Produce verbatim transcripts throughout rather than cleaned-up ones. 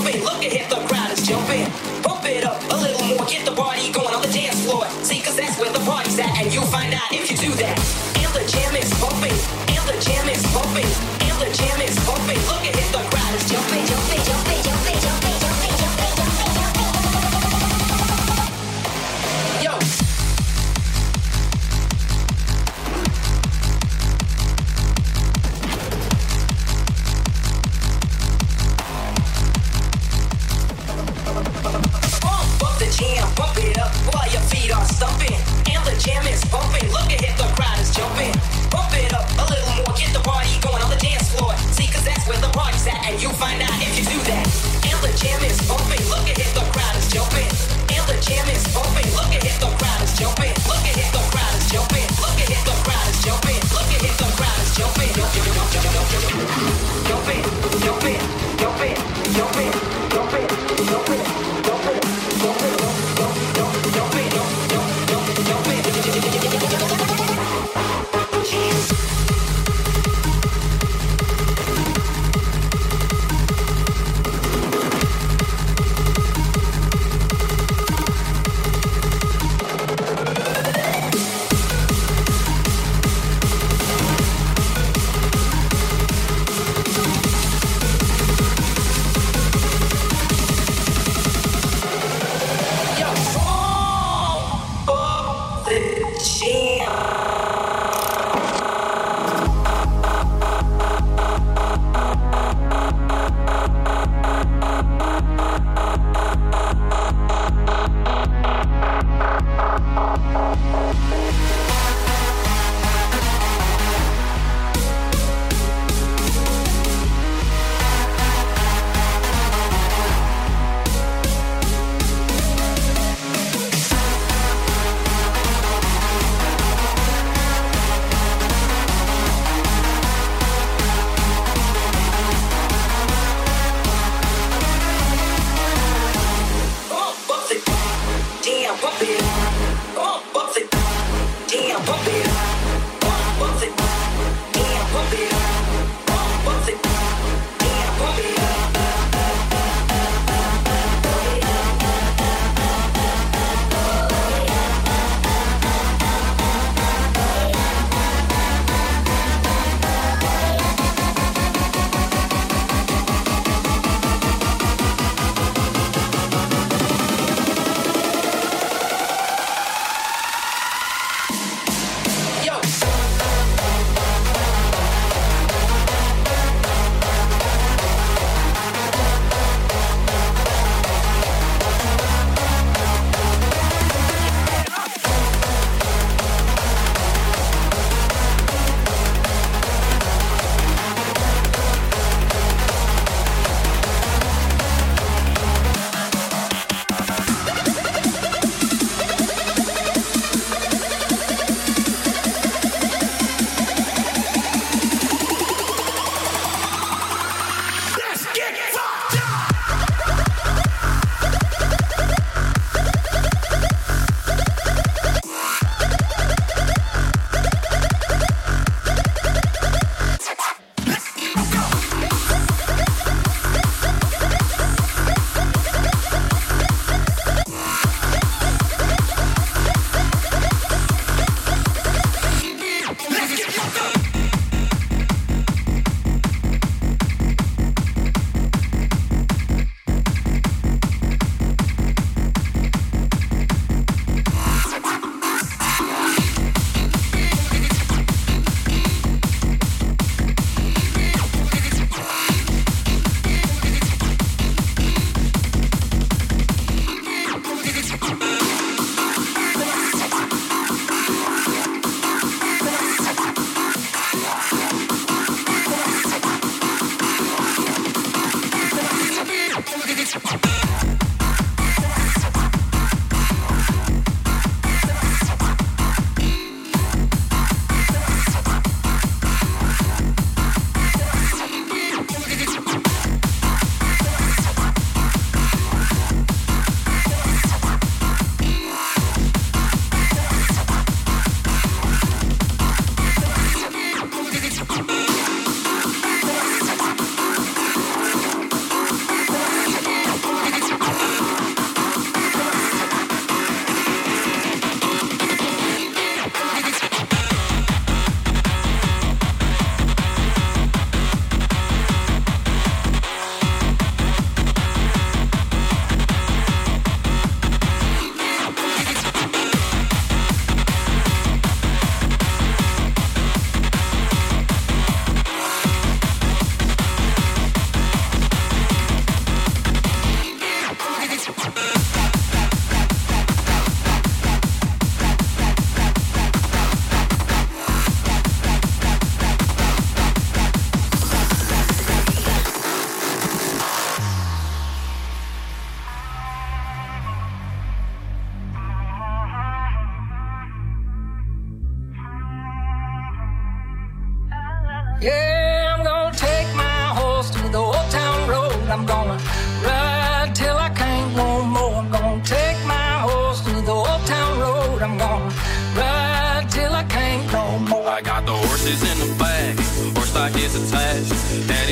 jumping. Look ahead, the crowd is jumping. Pump it up a little more, get the party going on the dance floor. See, cause that's where the party's at, and you'll find out if you do that. And the jam is pumping, and the jam is pumping, and the jam is pumping. Look ahead, the crowd is jumping, jumping, jumping, jumping, jumping, jumping, jumping, jumping, jumping. Yo.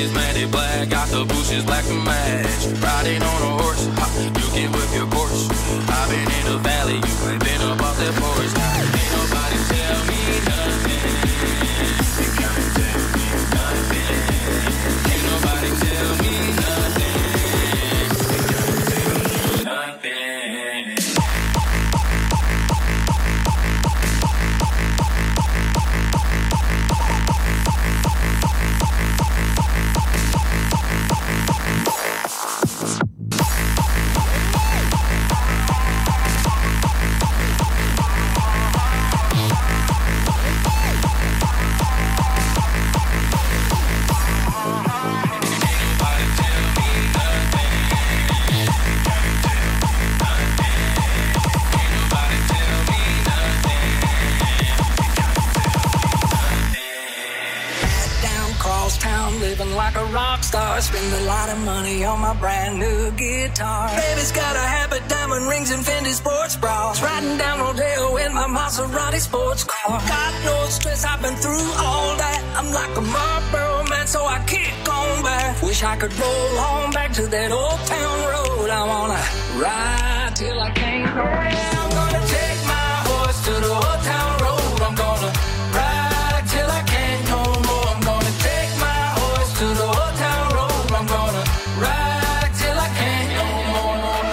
is matted black, got the bushes black to match. Riding on a horse, ha, you can whip your Porsche. I've been in the valley, you ain't been up off that porch. Ain't nobody tell me nothing. You can't tell me nothing. Ain't nobody tell me nothing. You can't tell me nothing. Like a rock star, spend a lot of money on my brand new guitar. Baby's got a habit, diamond rings and Fendi sports bras. Riding down Rodeo in my Maserati sports car. Got no stress, I've been through all that. I'm like a Marlboro man, so I kick on back. Wish I could roll on back to that old town road. I wanna ride till I can't go. Yeah, I'm gonna take my horse to the old town road. I'm gonna ride till I can't no more. I'm gonna take my to the old town road, I'm gonna ride till I can't no more.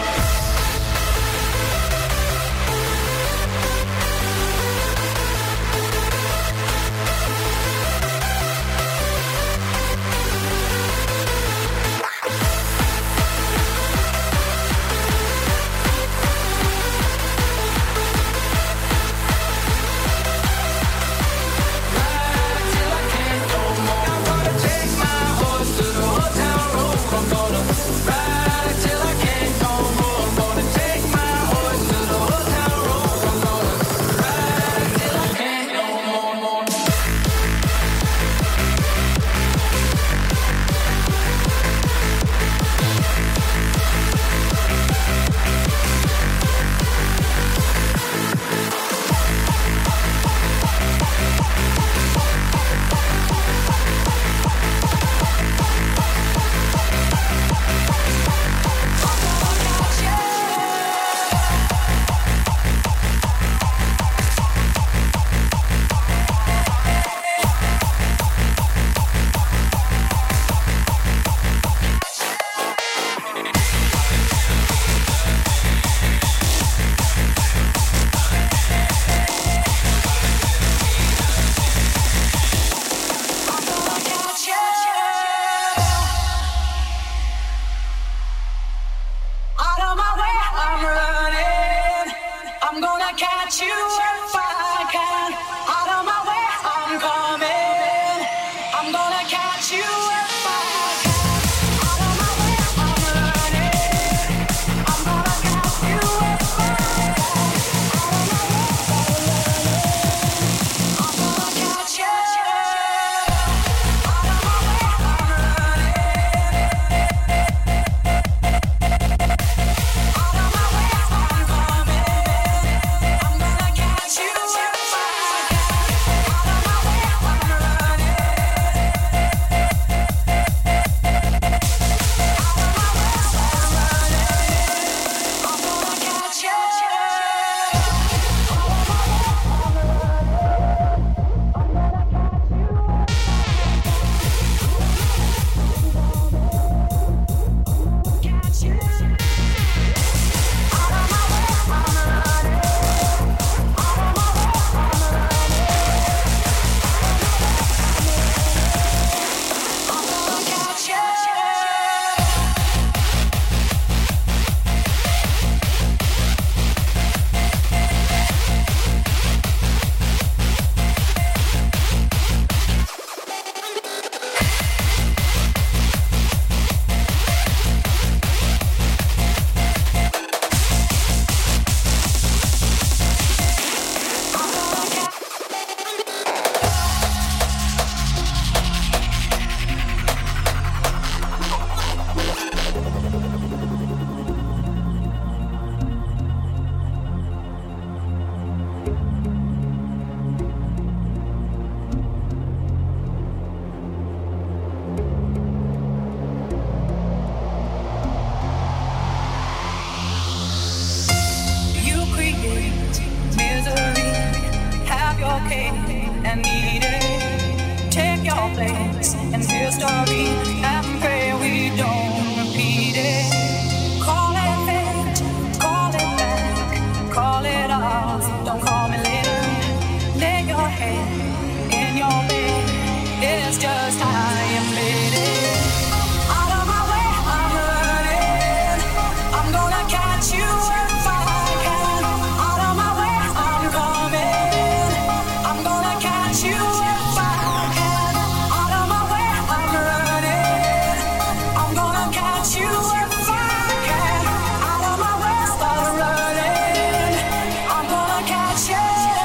hate and need it. Take your place in history and pray we don't repeat it. Call it fate, call it back, call it off. Don't call me later. Lay your head in your bed. It's just I am ready. Out of my way, I'm running. I'm gonna catch you if I can. Out of my way, I'm coming. I'm gonna catch you if I can. Out of my way, I'm running. I'm gonna catch you if I can. Out of my way, start running. I'm gonna catch you.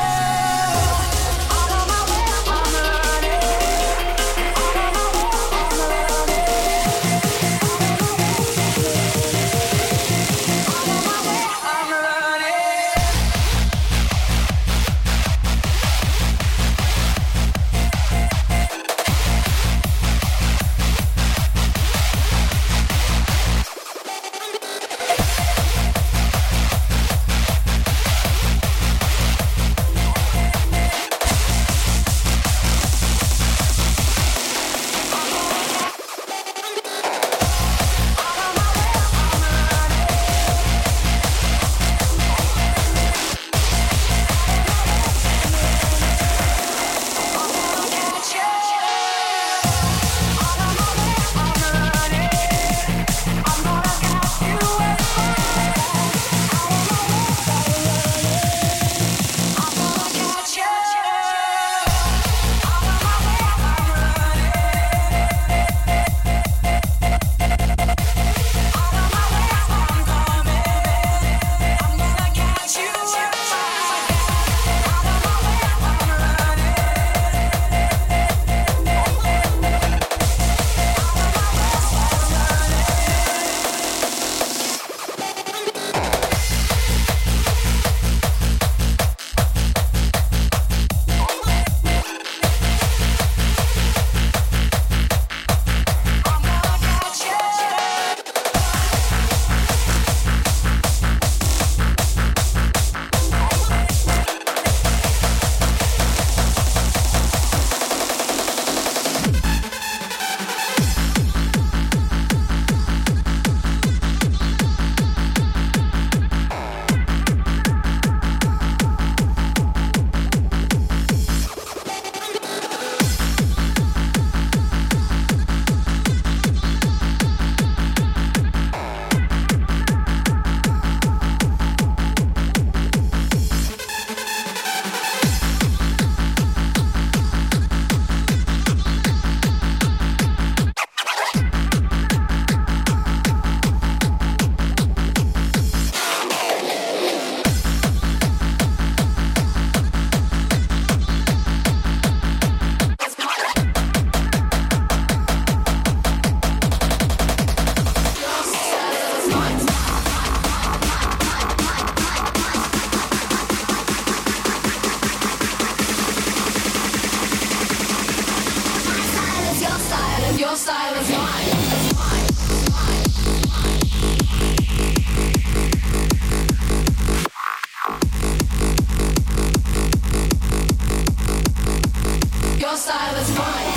Out of my way, I'm running. Out of my way, I'm running. Out of my way, I'm running. Your style is mine. Your style is mine.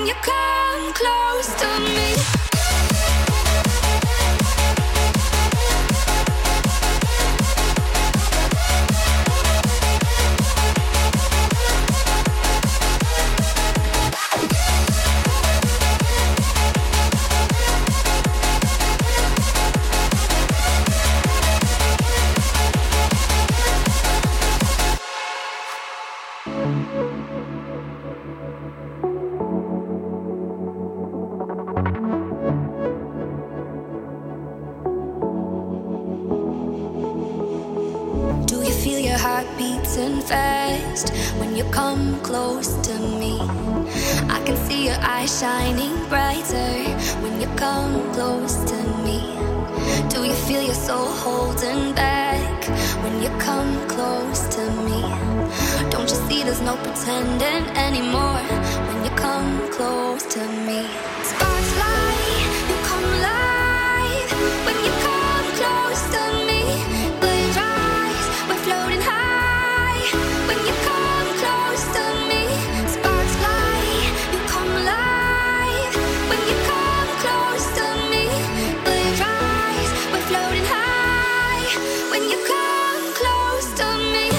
you come close to me. Fast when you come close to me. I can see your eyes shining brighter when you come close to me. Do you feel your soul holding back when you come close to me? Don't you see there's no pretending anymore when you come close to me? Sparks fly, you come alive when you come close to me. Blades rise, we're floating high. When you come close to me, sparks fly, you come alive. When you come close to me, blades rise, we're floating high. When you come close to me.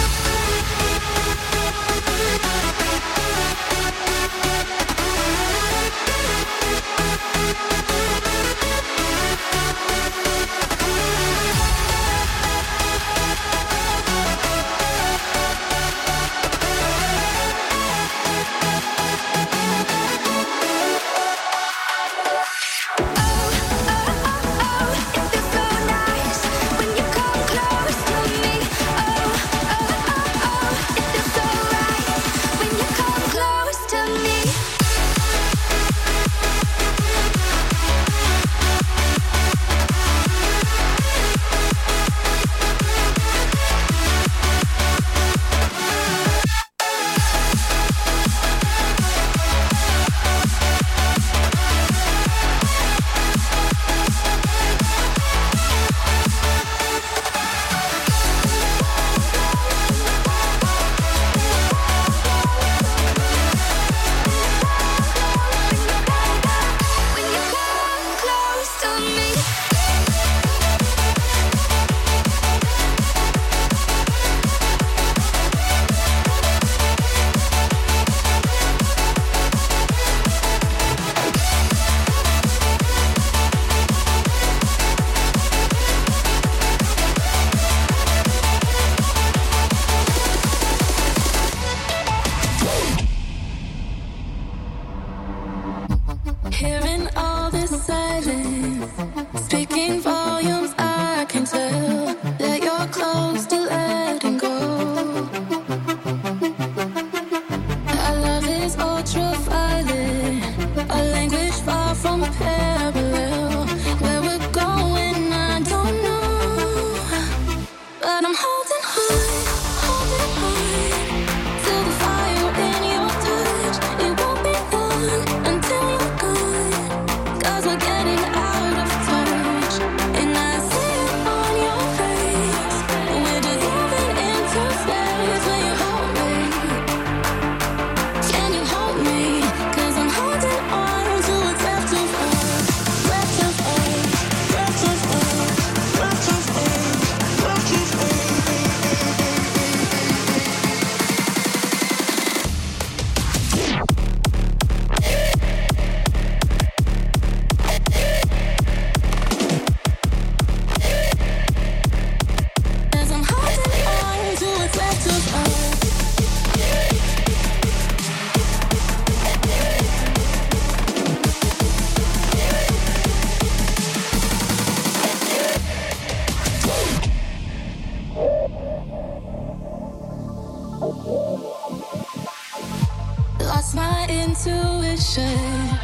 Lost my intuition.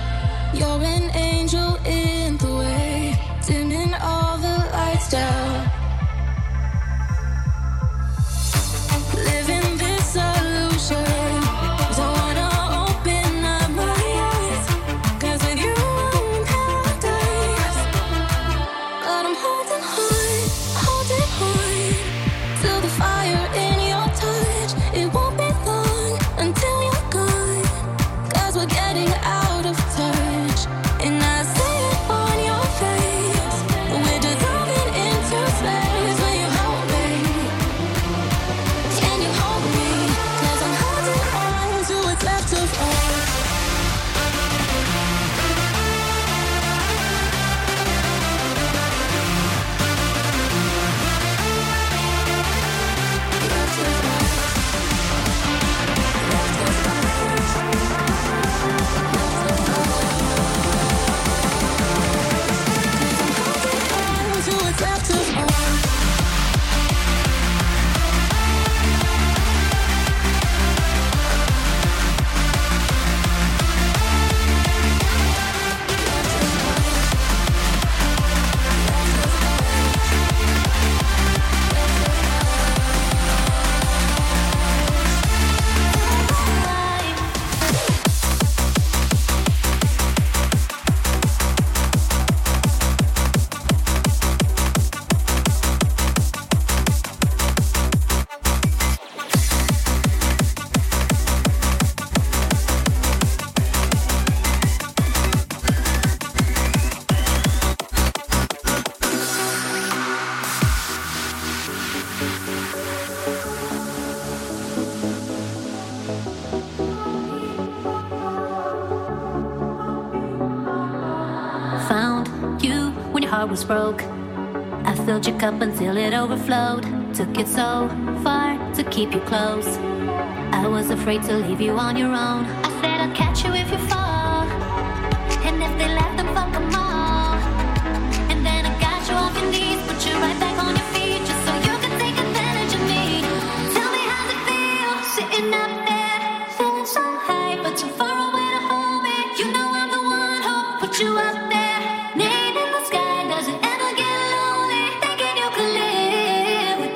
You're an angel in the way, dimming all the lights down. Living this illusion. Don't wanna open up my eyes, 'cause with you I'm in paradise. But I'm holding on, holding on to the fire in your touch. It won't be long until you're gone, 'cause we're getting out of touch, and I see it on your face. We're dissolving into space when you hold me. Can you hold me? 'Cause I'm holding on to what's left of us. Was broke. I filled your cup until it overflowed. Took it so far to keep you close. I was afraid to leave you on your own. I said I'll catch you if you fall, and if they laugh, then fuck them all. And then I got you off your knees, put you right back on your feet, just so you could take advantage of me. Tell me how's it feel, sitting up there, feeling so high, but too far away to hold me. You know I'm the one who put you up there.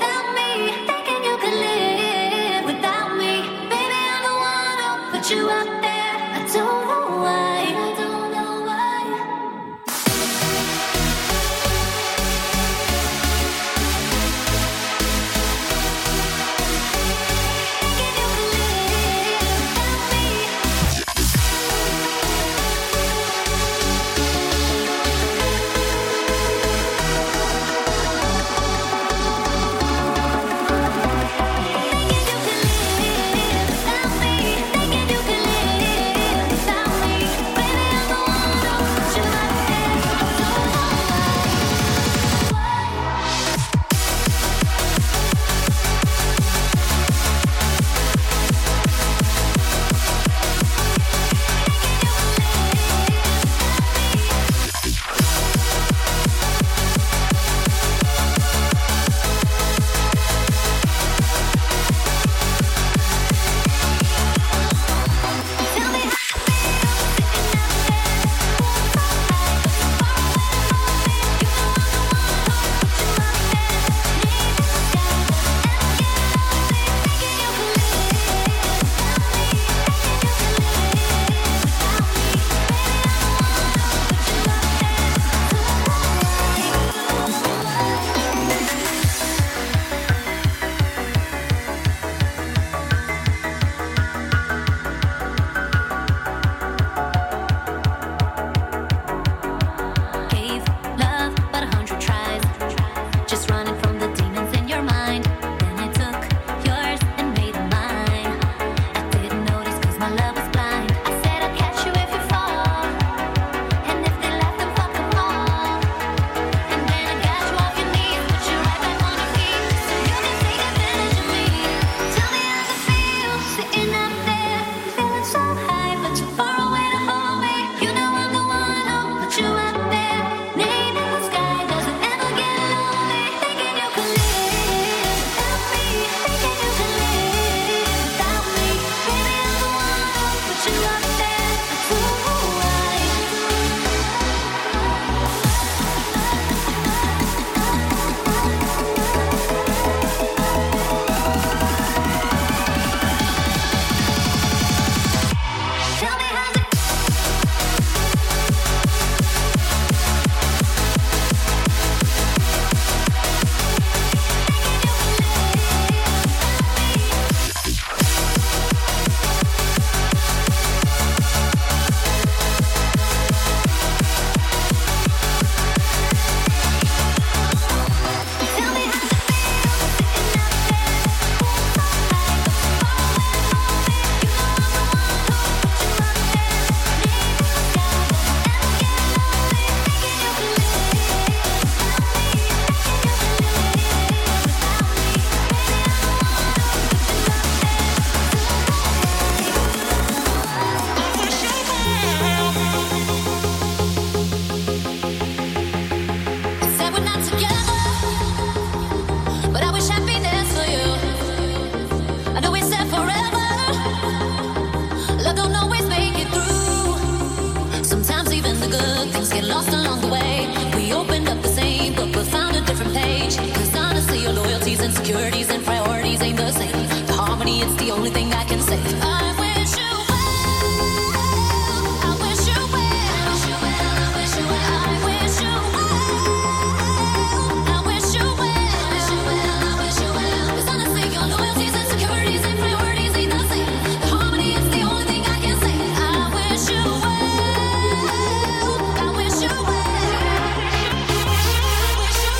You up good things get lost along the way. We opened up the same book but found a different page. Cause honestly your loyalties, insecurities and priorities ain't the same. The harmony, it's the only thing I can say. I wish you well, I wish you well, I wish you well, I wish you well, I wish you well, I wish you well, I wish you well. Cause honestly your loyalties, insecurities and priorities ain't the same. The harmony, it's the only thing I can say. I wish you well, I wish you well, I wish you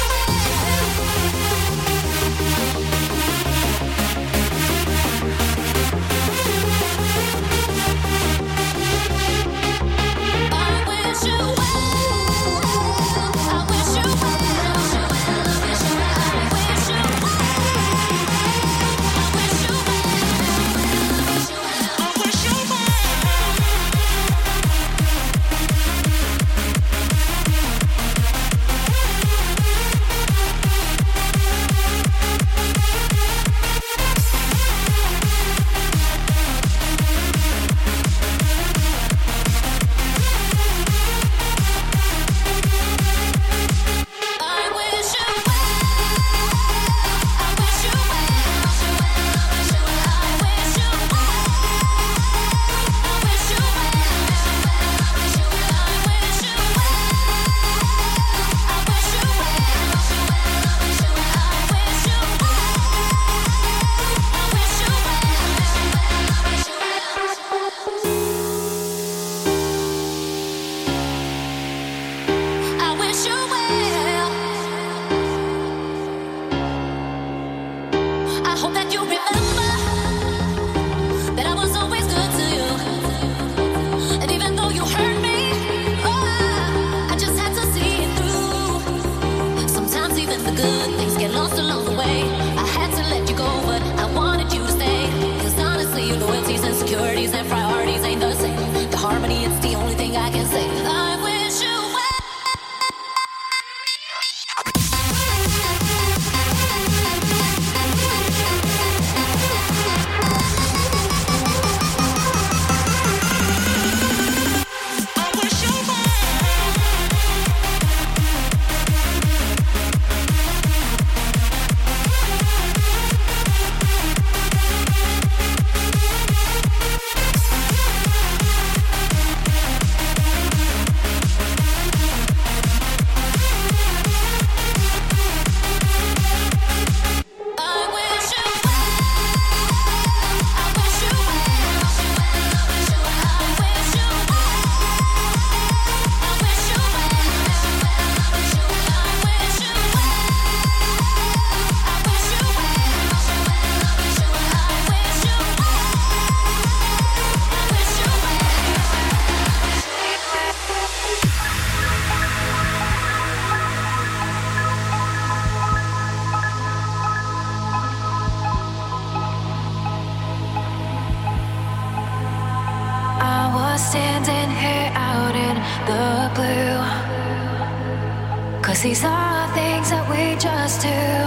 Cause these are things that we just do.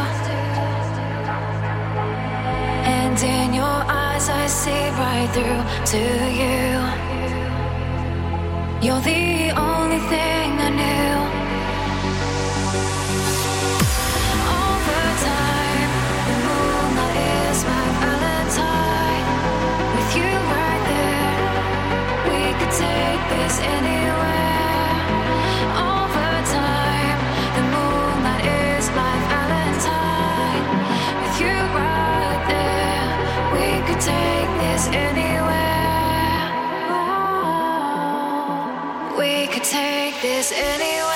And in your eyes I see right through to you. You're the only thing I knew. All the time, the moonlight is my valentine. With you right there, we could take this anywhere. All the time, the moonlight is my valentine. With you right there, we could take this anywhere. Oh, we could take this anywhere.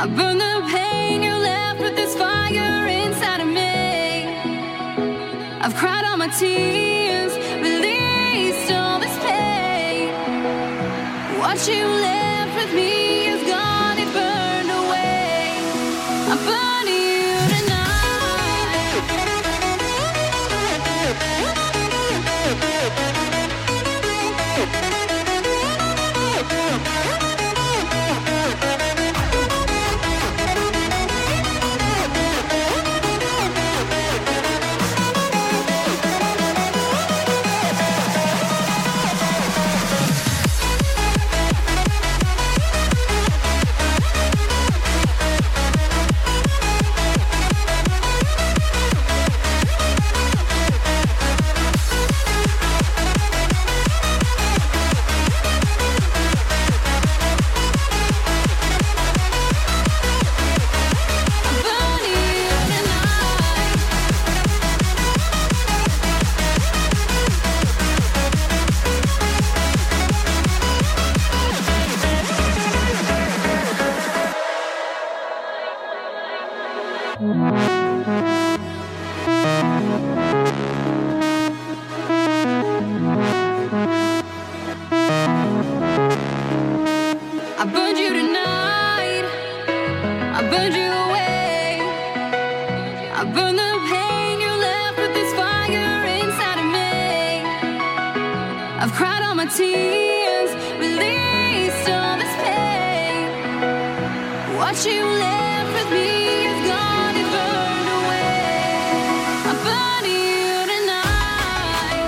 I burn the pain you left with this fire inside of me. I've cried all my tears, released all this pain. What you left with me is gone, it burned away. I'm burning you tonight. I burned you tonight. I burned you away. I burned the pain you left with this fire inside of me. I've cried all my tears, released all this pain. What you left with me is gone, it burned away. I'm burning you tonight.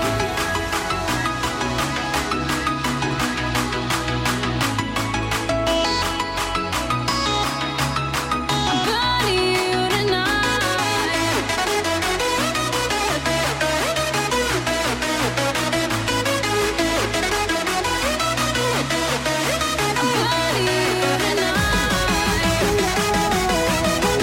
I'm burning you tonight. I'm burning you tonight.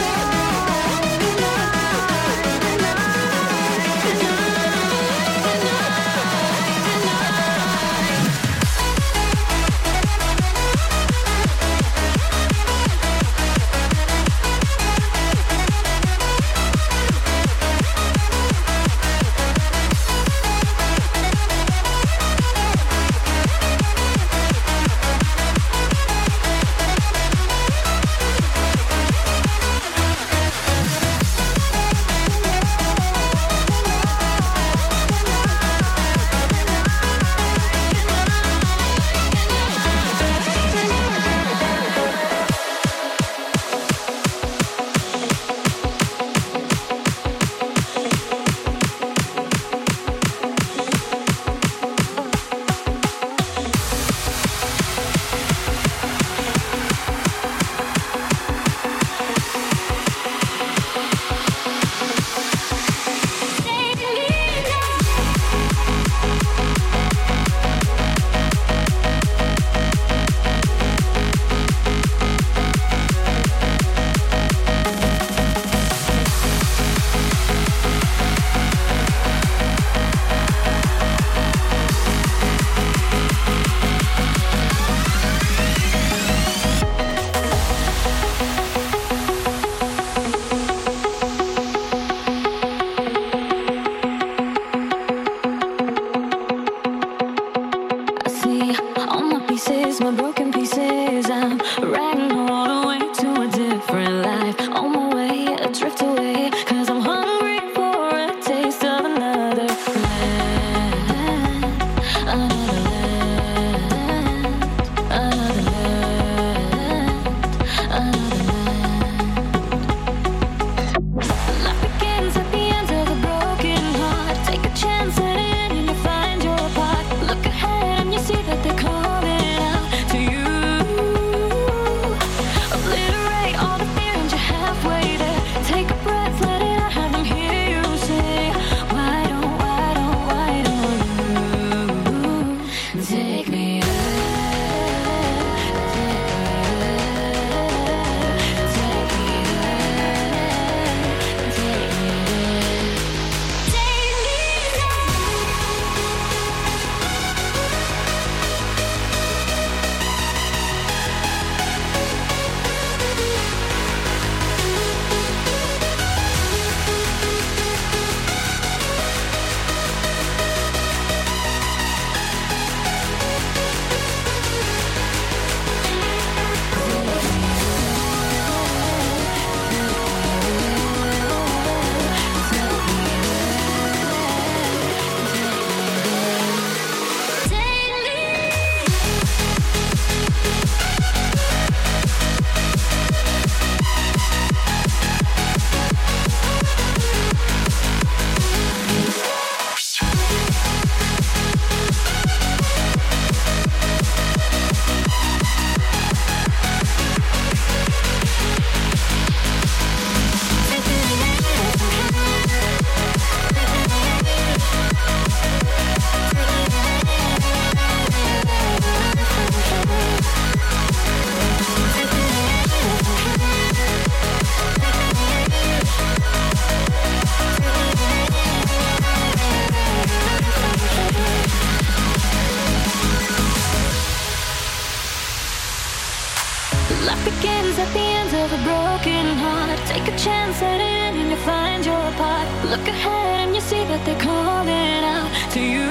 Look ahead and you see that they're calling out to you.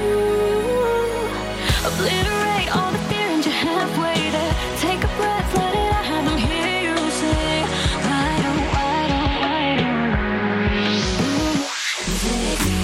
Obliterate all the fear and you're halfway there. Take a breath, let it out, have them hear you say, why don't, why don't, why don't take me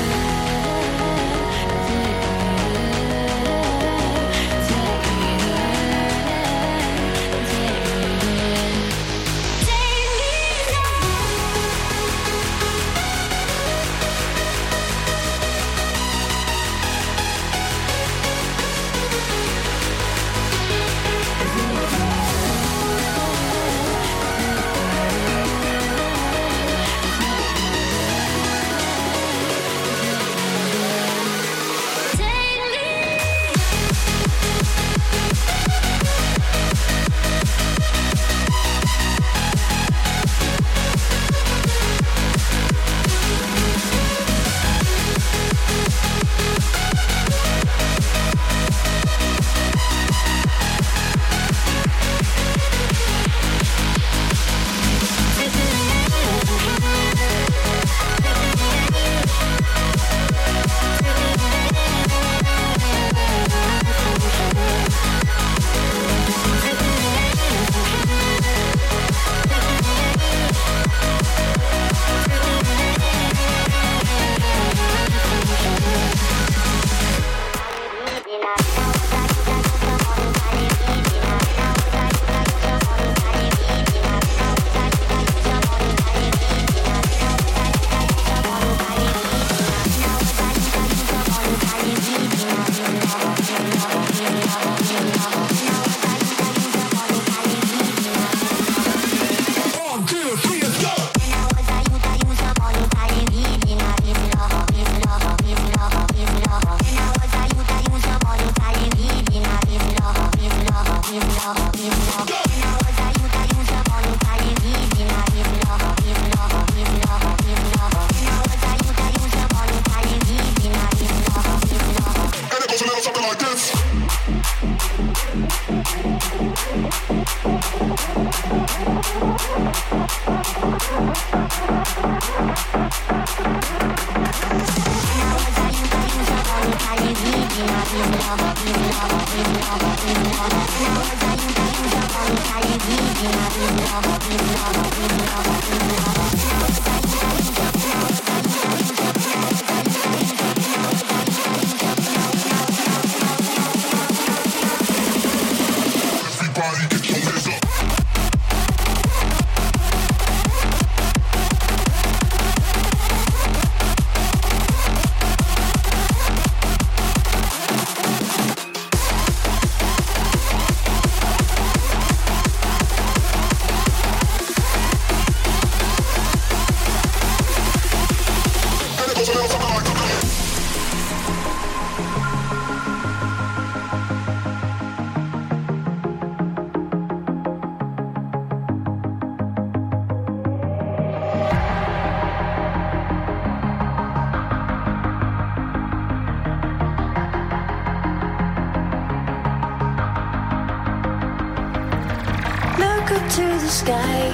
to the sky,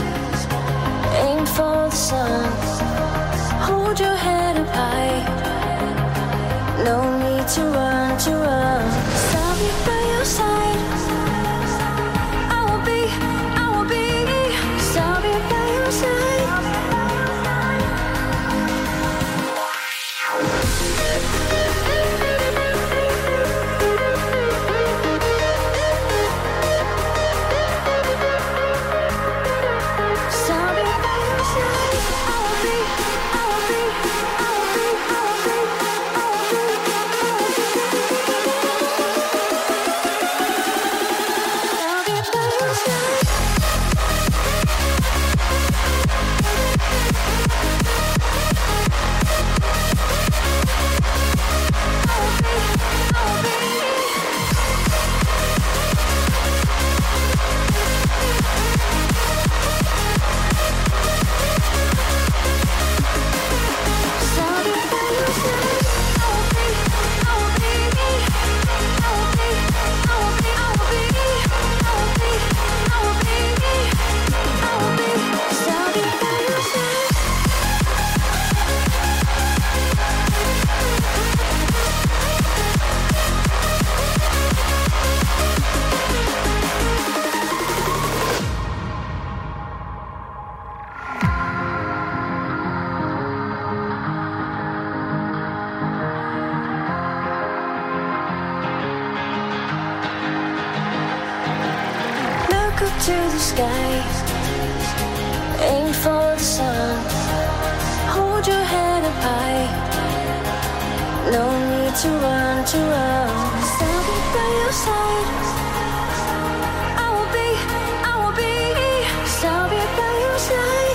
aim for the sun, hold your head up high, no need to run, to run, stop me by your side, I will be, I will be, stop me by your side. I the sky, aim for the sun, hold your head up high, no need to run, to run. I'll be by your side, I will be, I will be, I'll be by your side.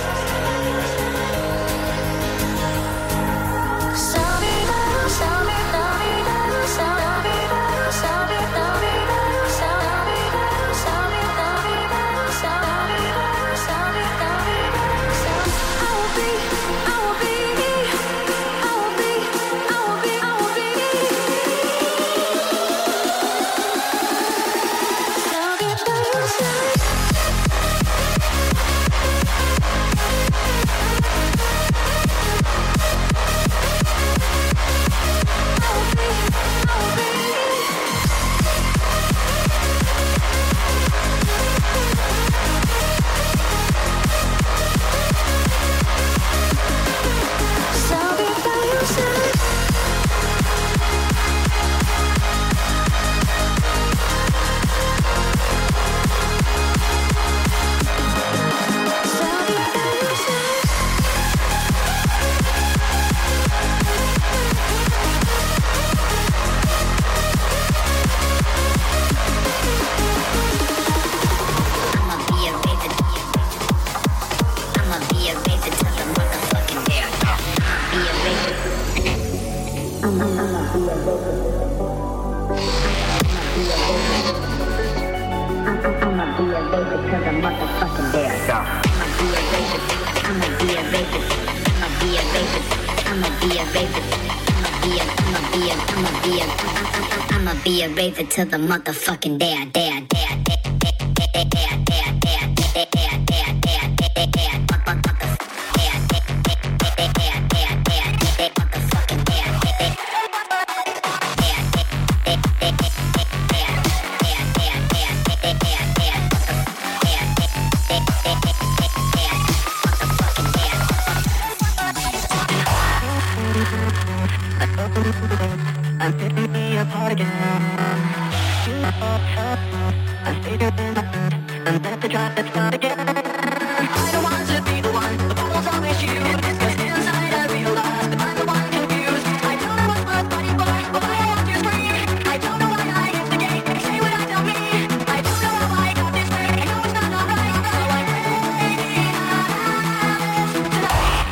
Rave it till the motherfucking day I dare, dare, dare, dare, dare, dare, dare, dare, dare, dare, dare, dare, dare, dare, I'm picking me apart again. I'm figuring I'm left to try to start again. I don't want to be the one, the problem's always you. It's cause inside I realize that I'm the one confused. I don't know what's worth fighting for, but why I have to scream. I don't know why I hit the gate, say what I tell me. I don't know how I got this way, I know it's not alright. So I'm ready tonight.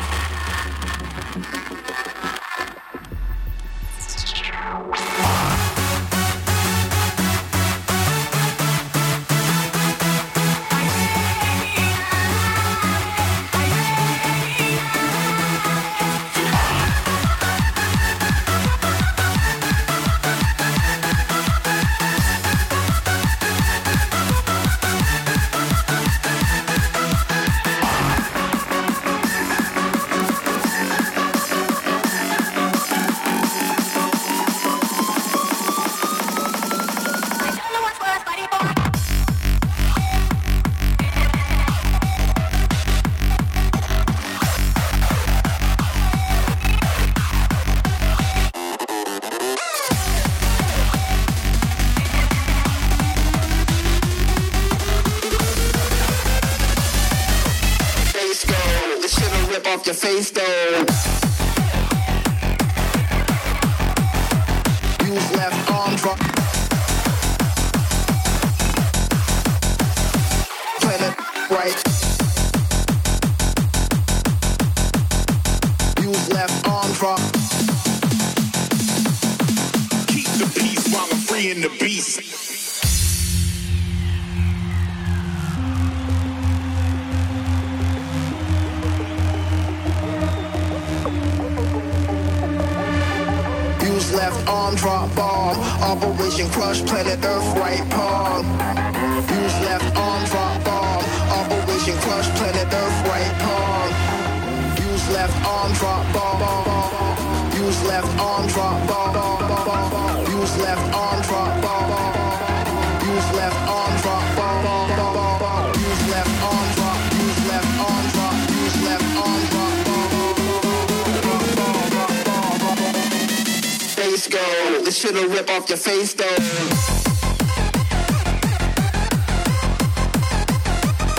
Your face though. Use left arm drop. Planet right. Use left arm drop. Keep the peace while I'm freeing the beast. Left arm drop bomb. Operation Crush Planet Earth right palm. Use left arm drop bomb. Operation Crush Planet Earth right palm. Use left arm drop bomb. Use left arm drop bomb. Use left arm drop bomb. Use left arm drop bomb. Use left arm drop. Use left arm drop. Use left arm drop. Face go. This shit'll rip off your face though.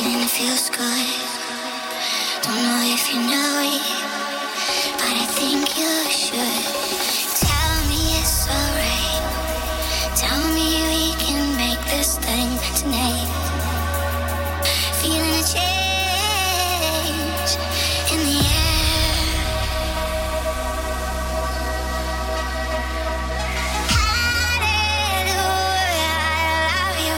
feeling it feels good. Don't know if you know it, but I think you should. Tell me it's alright. Tell me we can make this thing tonight. Feeling a change in the air. Hallelujah, I love you.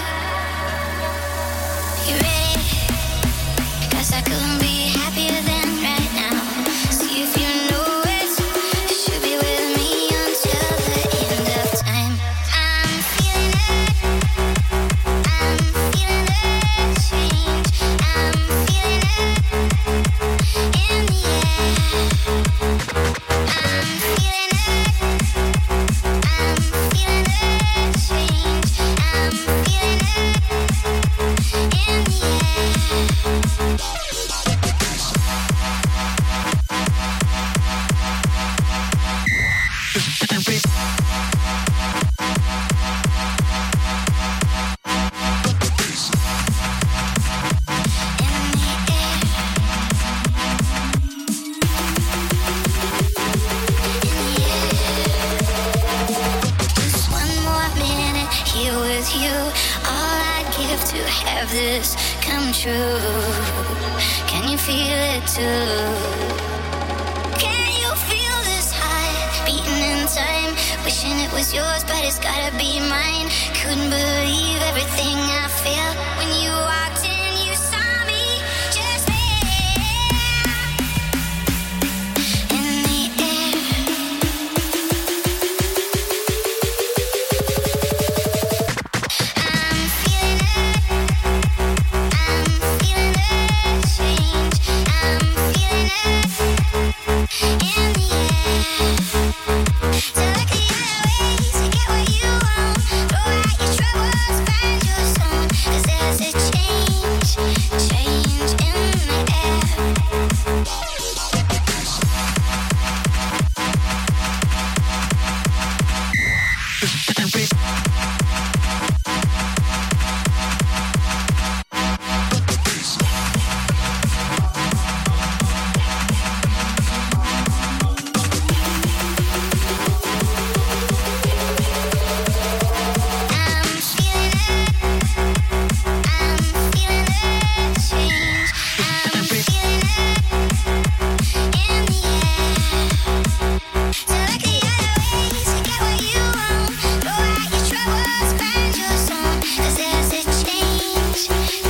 You ready? 'Cause I couldn't be happier than right now. See if you know it. You should be with me until the end of time. I'm feeling it. I'm feeling the change. I'm feeling it in the air. I'm feeling it. I'm feeling the change. I'm feeling it in the air. Just one more minute here with you. All I'd give to have this come true. Can you feel it too? Can you feel this heart beating in time? Wishing it was yours, but it's gotta be mine. Couldn't believe everything I felt when you walked in. You saw me just there in the air. I'm feeling it. I'm feeling the change. I'm feeling it in the air. So look the other ways to get what you want. Throw out your troubles, find your zone. 'Cause there's a change, change in the air. I'm feeling it. I'm feeling the change. I'm feeling it in the air. So look the other ways to get what you want. Throw out your troubles, find your zone. 'Cause there's a change,